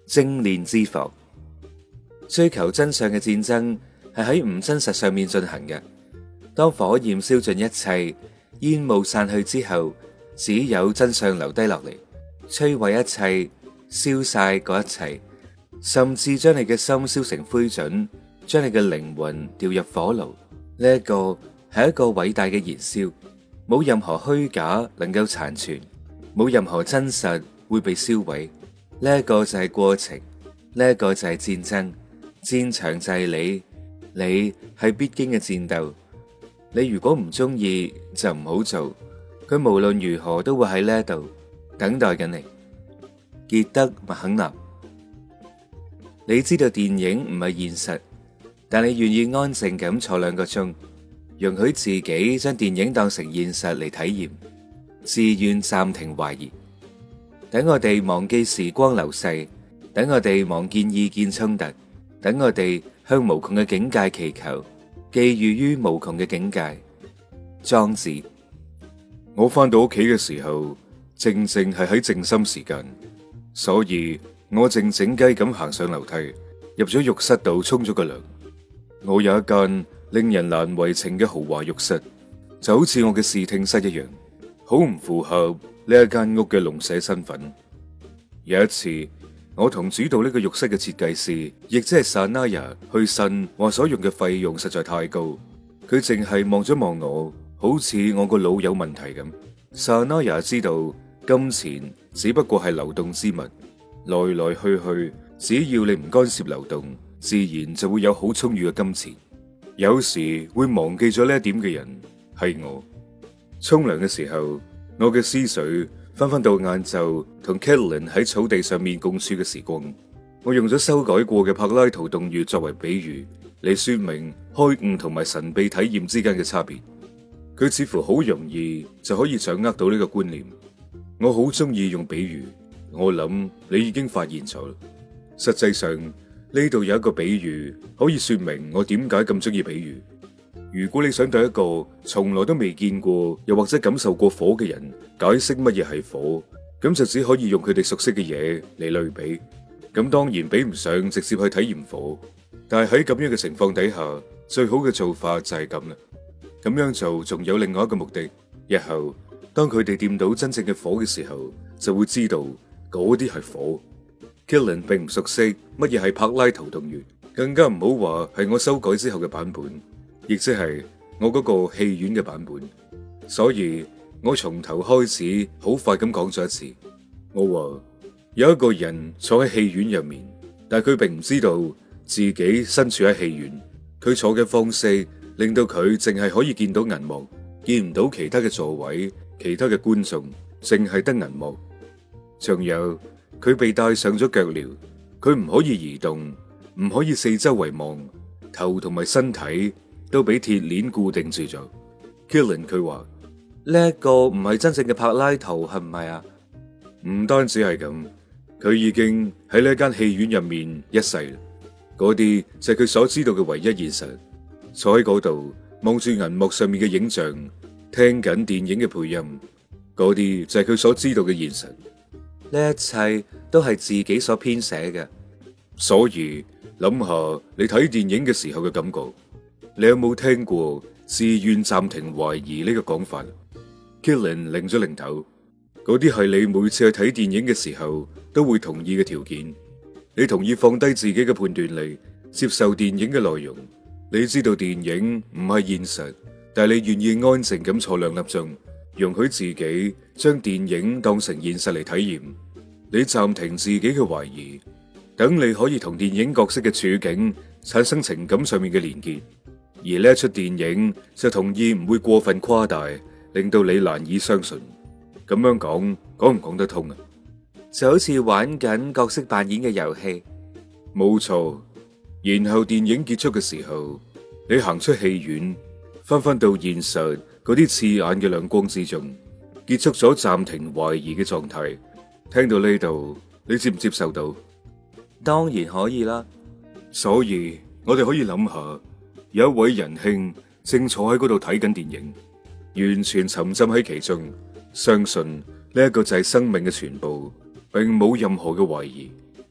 精煉之火。追求真相嘅戰爭係喺唔真實上面進行嘅。當火焰燒盡一切，煙霧散去之後，只有真相留低落嚟，摧毀一切，燒晒嗰一切，甚至將你嘅心燒成灰燼，將你嘅靈魂掉入火爐。呢一個係一個偉大嘅燃燒，冇任何虛假能夠殘存，冇任何真實會被燒毀。呢一個就係過程，呢一個就係戰爭。戰場就係你係必經嘅戰鬥。你如果唔中意就唔好做，佢無論如何都會喺呢度等待緊你。傑德麥肯納。你知道電影唔係現實，但你願意安靜咁坐2個鐘，容許自己將電影當成現實嚟體驗，自願暫停懷疑。等我哋忘記時光流逝，等我哋忘記意見衝突，等我哋向無窮嘅境界祈求，寄寓於無窮嘅境界。莊子。 我翻到屋企嘅時候，正正係喺靜心時間，所以我靜靜雞咁行上樓梯，入咗浴室度沖咗個涼。我有一間令人難為情嘅豪華浴室，就好似我嘅視聽室一樣，好唔符合呢一間屋嘅農舍身份。有一次，我同主導呢個浴室嘅設計師，亦即係 Sanaya 去呻，話所用嘅費用實在太高。佢淨係望咗望我，好似我個腦有問題咁。Sanaya 知道金錢只不過係流動之物，來來去去，只要你唔干涉流動，自然就會有好充裕嘅金錢。有時會忘記咗呢一點嘅人係我。沖涼嘅時候，我嘅思緒翻到晏晝同 Catelyn 喺草地上面共處嘅時光。我用咗修改過嘅柏拉圖洞穴作為比喻嚟說明開悟同埋神秘體驗之間嘅差別。佢似乎好容易就可以掌握到呢個觀念。我好中意用比喻，我諗你已經發現咗。實際上呢度有一個比喻可以說明我點解咁中意比喻。如果你想對一個從來都未見過又或者感受過火嘅人解釋乜嘢係火，咁就只可以用佢哋熟悉嘅嘢嚟類比。咁當然比唔上直接去體驗火，但係喺咁樣嘅情況底下，最好嘅做法就係咁啦。咁樣做仲有另外一個目的，日後當佢哋掂到真正嘅火嘅時候，就會知道嗰啲係火。Catelyn 並唔熟悉乜嘢係柏拉圖洞穴，更加唔好話係我修改之後嘅版本，亦即係我嗰個戲院嘅版本。所以我從頭開始好快咁講咗一次。我話有一個人坐喺戲院入面，但係佢並唔知道自己身處喺戲院。佢坐嘅方式令到佢淨係可以見到銀幕，見唔到其他嘅座位、其他嘅觀眾，淨係得銀幕。仲有佢被戴上咗腳鐐，佢唔可以移動，唔可以四周圍望，頭同埋身體都俾鐵鏈固定住咗。Catelyn 佢話呢一個唔係真正嘅柏拉圖，係唔係啊？ 唔單止係咁，佢已經喺呢間戲院入面一世啦。嗰啲就係佢所知道嘅唯一現實。坐喺嗰度望住銀幕上面嘅影像，聽緊電影嘅配音，嗰啲就係佢所知道嘅現實。 呢一切都係自己所編寫嘅。 所以諗下你睇電影嘅時候嘅感覺，你有冇聽過自願暫停懷疑呢個講法？Catelyn 擰咗擰頭，嗰啲係你每次去睇電影嘅時候都會同意嘅條件。你同意放低自己嘅判斷力，接受電影嘅內容。你知道電影唔係現實，但係你願意安靜咁坐2粒鐘，容許自己將電影當成現實嚟體驗。你暫停自己嘅懷疑，等你可以同電影角色嘅處境產生情感上面嘅連結。而呢一出電影就同意唔會過分誇大，令到你難以相信。咁樣講唔講得通啊？ 就好似玩緊角色扮演嘅遊戲。 冇錯。然後電影結束嘅時候，你行出戲院，翻到現實嗰啲刺眼嘅亮光之中，結束咗暫停懷疑嘅狀態。聽到呢度，你接唔接受到？ 當然可以啦。 所以我哋可以諗下，有一位仁兄正坐喺嗰度睇緊電影，完全沉浸喺其中，相信呢一個就係生命嘅全部，並冇任何嘅懷疑。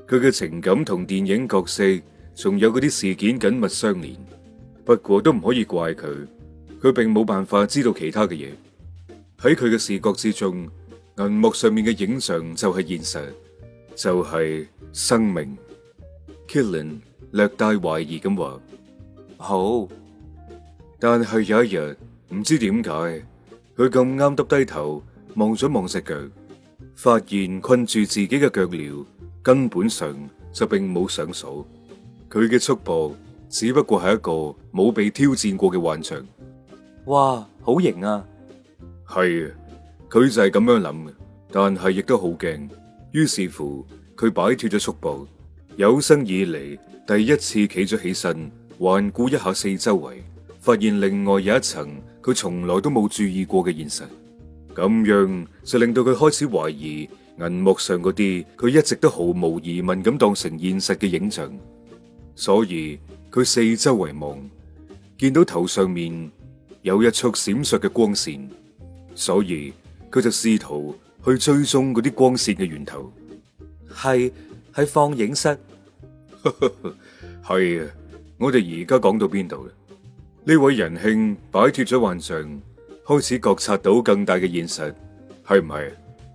佢嘅情感同電影角色仲有嗰啲事件緊密相連。不過都唔可以怪佢，佢並冇辦法知道其他嘅嘢。喺佢嘅視覺之中，銀幕上面嘅影像就係現實，就係生命。Killen 略帶懷疑咁話： 好， 但係有一日，唔知點解，佢咁啱耷低頭望咗望隻腳，發現困住自己嘅腳鐐根本上就並冇上鎖。佢嘅束縛只不過係一個冇被挑戰過嘅幻象。 哇，好型啊！ 係啊，佢就係咁樣諗嘅，但係亦都好驚。於是乎，佢擺脫咗束縛，有生以嚟第一次企咗起身，環顧一下四周圍，發現另外有一層佢從來都冇注意過嘅現實。咁樣就令到佢開始懷疑銀幕上嗰啲佢一直都毫無疑問咁當成現實嘅影像。所以佢四周圍望，見到頭上面有一束閃爍嘅光線，所以佢就試圖去追蹤嗰啲光線嘅源頭。 係放映室。 係啊，我哋而家講到邊度啦？呢位仁兄擺脫咗幻象，開始覺察到更大嘅現實，係唔係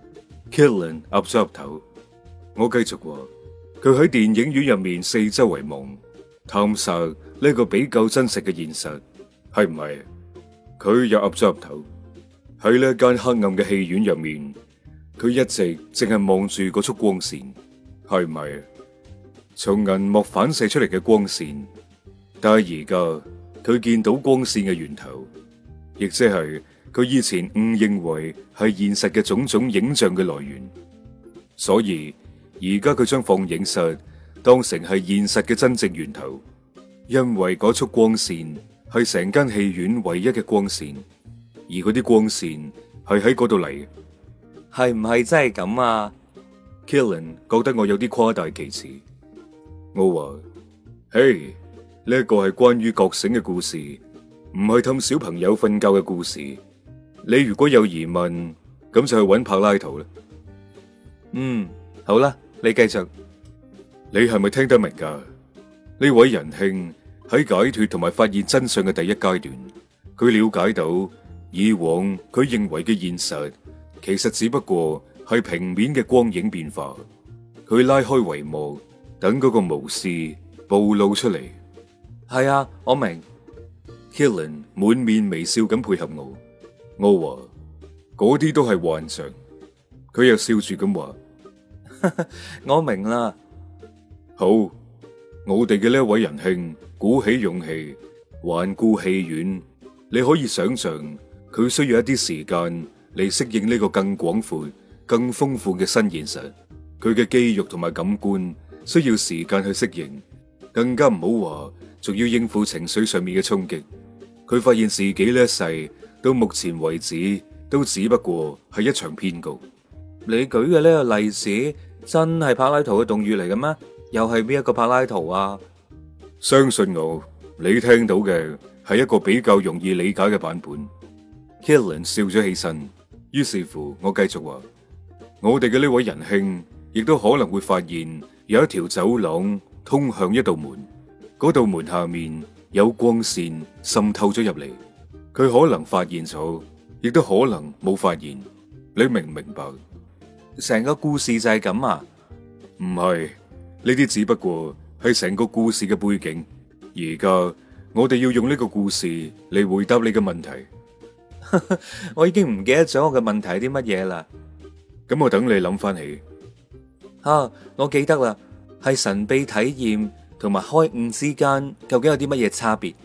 ？Killen 岌咗岌頭。我繼續話，佢喺電影院入面四周圍望，探索呢個比較真實嘅現實，係唔係？佢又岌咗岌頭。喺呢間黑暗嘅戲院入面，佢一直淨係望住嗰束光線，係唔係？從銀幕反射出嚟嘅光線，但係而家佢見到光線嘅源頭，亦即係佢以前誤認為係現實嘅種種影像嘅來源。所以而家佢將放映室當成係現實嘅真正源頭，因為嗰束光線係成間戲院唯一嘅光線，而嗰啲光線係喺嗰度嚟嘅。 係唔係真係咁啊？ Killen 覺得我有啲誇大其詞。我話：嘿，呢一個係關於覺醒嘅故事，唔係氹小朋友瞓覺嘅故事。你如果有疑問，咁就去揾柏拉圖啦。 好啦，你繼續。 你係咪聽得明㗎？呢位仁兄喺解脫同埋發現真相嘅第一階段，佢了解到以往佢認為嘅現實，其實只不過係平面嘅光影變化。佢拉開帷幕，等嗰個巫師暴露出嚟。 係啊，我明。 Killen 滿面微笑咁配合我。我話嗰啲都係幻象。佢又笑住咁話： 我明啦。 好，我哋嘅呢一位仁兄鼓起勇氣環顧戲院，你可以想象佢需要一啲時間嚟適應呢個更廣闊、更豐富嘅新現實。佢嘅肌肉同埋感官需要時間去適應，更加唔好話仲要應付情緒上面嘅衝擊。佢發現自己呢一世到目前為止都只不過係一場騙局。 你舉嘅呢個例子真係柏拉圖嘅洞穴嚟嘅咩？又係邊一個柏拉圖啊？ 相信我，你聽到嘅係一個比較容易理解嘅版本。Killen 笑咗起身，於是乎我繼續話：我哋嘅呢位仁兄亦都可能會發現有一條走廊通向一道門，嗰道門下面有光線滲透咗入嚟。佢可能發現咗，亦都可能冇發現。你明唔明白？ 成個故事就係咁啊？ 唔係，呢啲只不過係成個故事嘅背景。而家我哋要用呢個故事嚟回答你嘅問題。 我已經唔記得咗我嘅問題係啲乜嘢啦。 咁我等你諗翻起。 我記得啦，係神秘體驗同埋開悟之間究竟有啲乜嘢差別？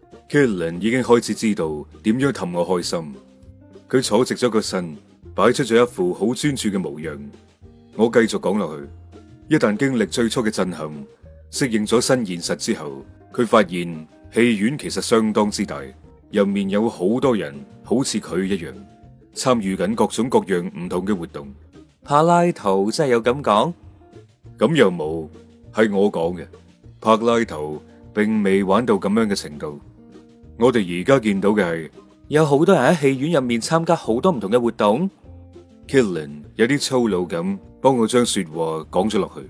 Killen 已經開始知道點樣氹我開心。佢坐直咗個身，擺出咗一副好專注嘅模樣。我繼續講落去。一旦經歷最初嘅震撼，適應咗新現實之後，佢發現戲院其實相當之大，入面有好多人好似佢一樣參與緊各種各樣唔同嘅活動。 柏拉圖真係有咁講？ 咁又冇，係我講嘅。柏拉圖並未玩到咁樣嘅程度。我哋而家見到嘅係有好多人喺戲院入面參加好多唔同嘅活動。 Killen 有啲粗魯咁幫我將說話講咗落去。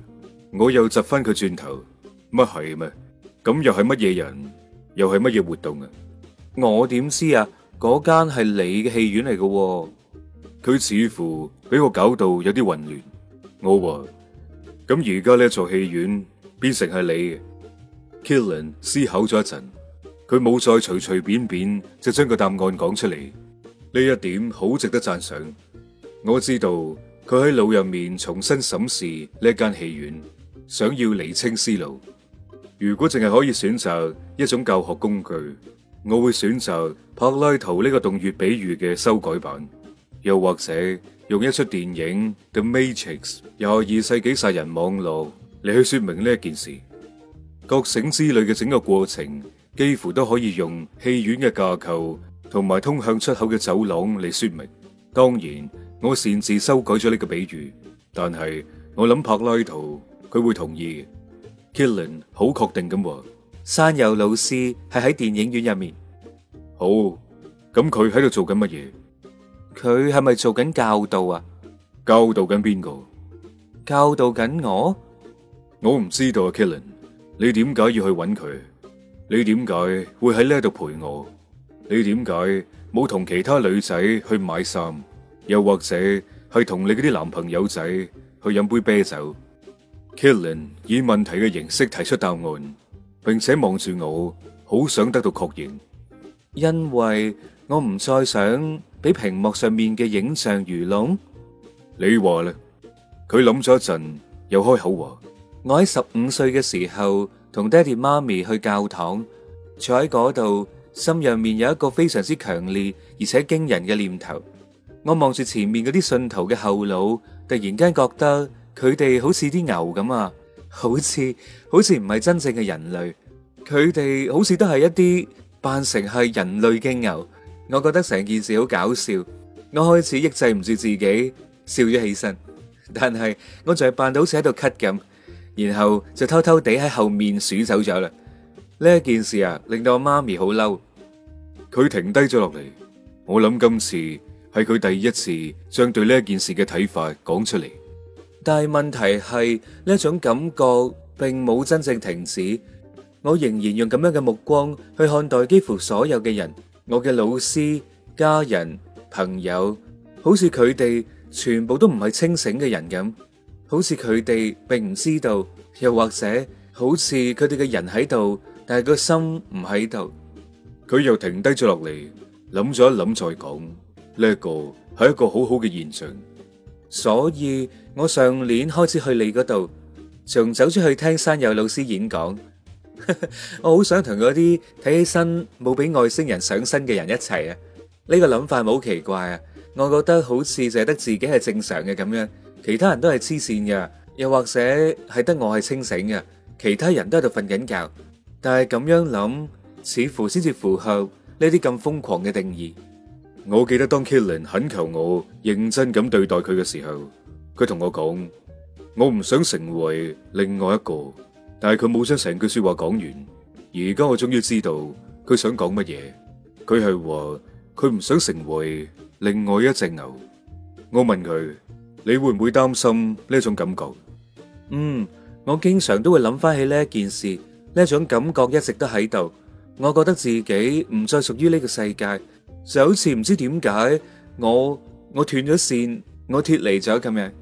我又窒翻佢轉頭，乜係咩？咁又係乜嘢人？又係乜嘢活動啊？ 我點知啊？嗰間係你嘅戲院嚟嘅喎。 佢似乎俾我搞到有啲混亂。我話咁而家呢座戲院變成係你嘅。Killen 思考咗一陣，佢冇再隨隨便便就將個答案講出嚟。呢一點好值得讚賞。我知道佢喺腦入面重新審視呢間戲院，想要釐清思路。如果淨係可以選擇一種教學工具，我會選擇柏拉圖呢個洞穴比喻嘅修改版，又或者用一出電影《The Matrix》22世紀殺人網絡嚟去說明呢一件事。覺醒之旅嘅整個過程幾乎都可以用戲院嘅架構同埋通向出口嘅走廊嚟說明。當然，我擅自修改咗呢個比喻，但係我諗柏拉圖佢會同意嘅。Killen 好確定咁話， 山友老師係喺電影院入面。 好，咁佢喺度做緊乜嘢？ 佢係咪做緊教導啊？ 教導緊邊個？ 教導緊我？ 我唔知道啊，Killen，你點解要去揾佢？你點解會喺呢度陪我？你點解冇同其他女仔去買衫？又或者係同你嗰啲男朋友仔去飲杯啤酒？Killen 以問題嘅形式提出答案，並且望住我，好想得到確認。 因為我唔再想俾屏幕上面嘅影像愚弄。 你話咧？佢諗咗一陣，又開口話： 我喺15歲嘅時候，同爹哋媽咪去教堂，坐喺嗰度，心入面有一個非常之強烈而且驚人嘅念頭。我望住前面嗰啲信徒嘅後腦，突然間覺得佢哋好似啲牛咁啊，好似唔係真正嘅人類，佢哋好似都係一啲扮成係人類嘅牛。我覺得成件事好搞笑，我開始抑制唔住自己笑咗起身，但係我仲係扮到好似喺度咳咁，然後就偷偷地喺後面數走咗啦。呢一件事啊，令到我媽咪好嬲。 佢停低咗落嚟，我諗今次係佢第一次將對呢一件事嘅睇法講出嚟。 但係問題係呢一種感覺並冇真正停止，我仍然用咁樣嘅目光去看待幾乎所有嘅人，我嘅老師、家人、朋友，好似佢哋全部都唔係清醒嘅人咁，好似佢哋並唔知道，又或者好似佢哋嘅人喺度，但係個心唔喺度。 佢又停低咗落嚟，諗咗一諗再講，呢一個係一個好好嘅現象。 所以我上年開始去你嗰度，仲走出去聽山友老師演講。我好想同嗰啲睇起身冇俾外星人上身嘅人一齊啊！呢個諗法冇奇怪啊，我覺得好似就係得自己係正常嘅咁樣，其他人都係黐線嘅，又或者係得我係清醒嘅，其他人都喺度瞓緊覺。但係咁樣諗，似乎先至符合呢啲咁瘋狂嘅定義。 我記得當 Killen 懇求我認真咁對待佢嘅時候，佢同我講，我唔想成為另外一個。但係佢冇將成句說話講完，而家我終於知道佢想講乜嘢。佢係話佢唔想成為另外一隻牛。我問佢，你會唔會擔心呢種感覺？ 我經常都會諗翻起呢一件事，呢種感覺一直都喺度。我覺得自己唔再屬於呢個世界，就好似唔知點解我斷咗線，我脫離咗咁樣。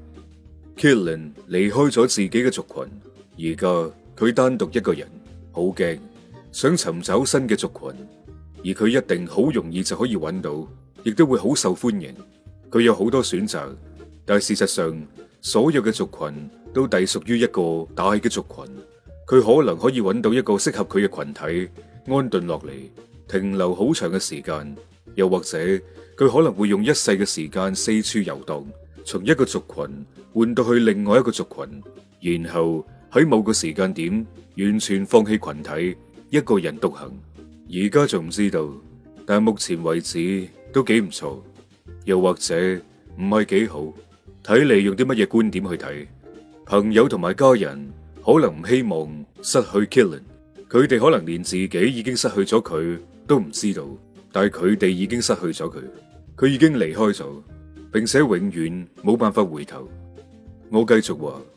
Killen 離開咗自己嘅族群，而家佢單獨一個人，好驚，想尋找新嘅族群，而佢一定好容易就可以揾到，亦都會好受歡迎。佢有好多選擇，但係事實上，所有嘅族群都隸屬於一個大嘅族群。佢可能可以揾到一個適合佢嘅群體，安頓落嚟，停留好長嘅時間，又或者佢可能會用一世嘅時間四處遊蕩，從一個族群換到去另外一個族群，然後喺某個時間點完全放棄群體，一個人獨行。而家仲唔知道，但係目前為止都幾唔錯，又或者唔係幾好，睇你用啲乜嘢觀點去睇。朋友同埋家人可能唔希望失去 Killen， 佢哋可能連自己已經失去咗佢都唔知道，但係佢哋已經失去咗佢，佢已經離開咗，並且永遠冇辦法回頭。我繼續話，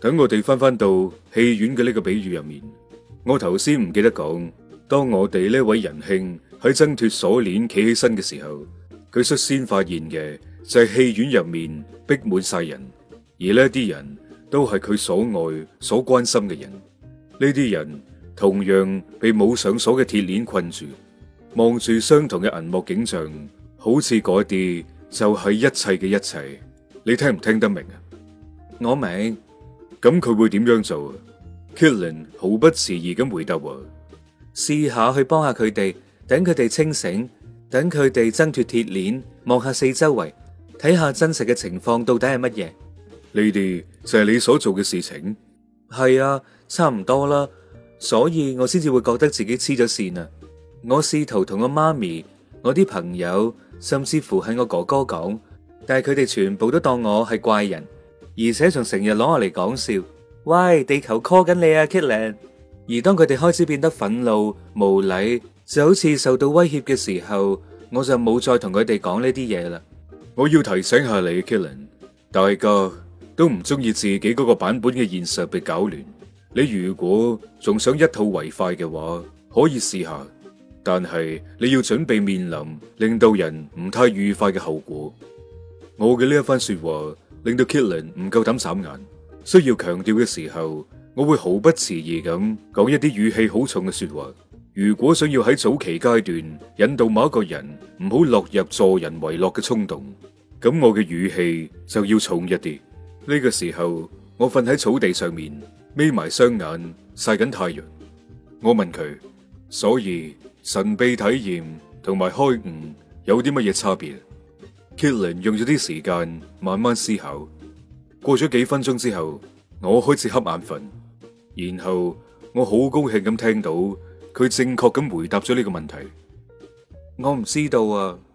等我哋翻到戲院嘅呢個比喻入面，我頭先唔記得講，當我哋呢位仁兄喺掙脫鎖鏈企起身嘅時候，佢率先發現嘅就係戲院入面逼滿晒人，而呢啲人都係佢所愛、所關心嘅人。呢啲人同樣被冇上鎖嘅鐵鏈困住，望住相同嘅銀幕景象，好似嗰啲就係一切嘅一切。你聽唔聽得明啊？ 我明。 咁佢會點樣做啊？ Killen 毫不遲疑咁回答話： 試下去幫下佢哋，等佢哋清醒，等佢哋掙脫鐵鏈，望下四周圍，睇下真實嘅情況到底係乜嘢。 呢啲就係你所做嘅事情？ 係啊，差唔多啦，所以我先至會覺得自己黐咗線啊！我試圖同我媽咪、我啲朋友，甚至乎係我哥哥講，但係佢哋全部都當我係怪人。而且仲成日攞我嚟講笑，喂，地球 call 緊你啊 Killen。 而當佢哋開始變得憤怒無禮，就好似受到威脅嘅時候，我就冇再同佢哋講呢啲嘢啦。 我要提醒下你 Killen， 大家都唔中意自己嗰個版本嘅現實被搞亂。你如果仲想一吐為快嘅話，可以試下，但係你要準備面臨令到人唔太愉快嘅後果。我嘅呢一番說話令到 Killen 唔夠膽眨眼，需要強調嘅時候，我會毫不遲疑咁講一啲語氣好重嘅說話。如果想要喺早期階段引導某一個人唔好落入助人為樂嘅衝動，咁我嘅語氣就要重一啲。呢個時候，我瞓喺草地上面，眯埋雙眼曬緊太陽。我問佢，所以神秘體驗同埋開悟有啲乜嘢差別？Killen 用咗啲時間慢慢思考，過咗幾分鐘之後，我開始瞌眼瞓，然後我好高興咁聽到佢正確咁回答咗呢個問題。 我唔知道啊。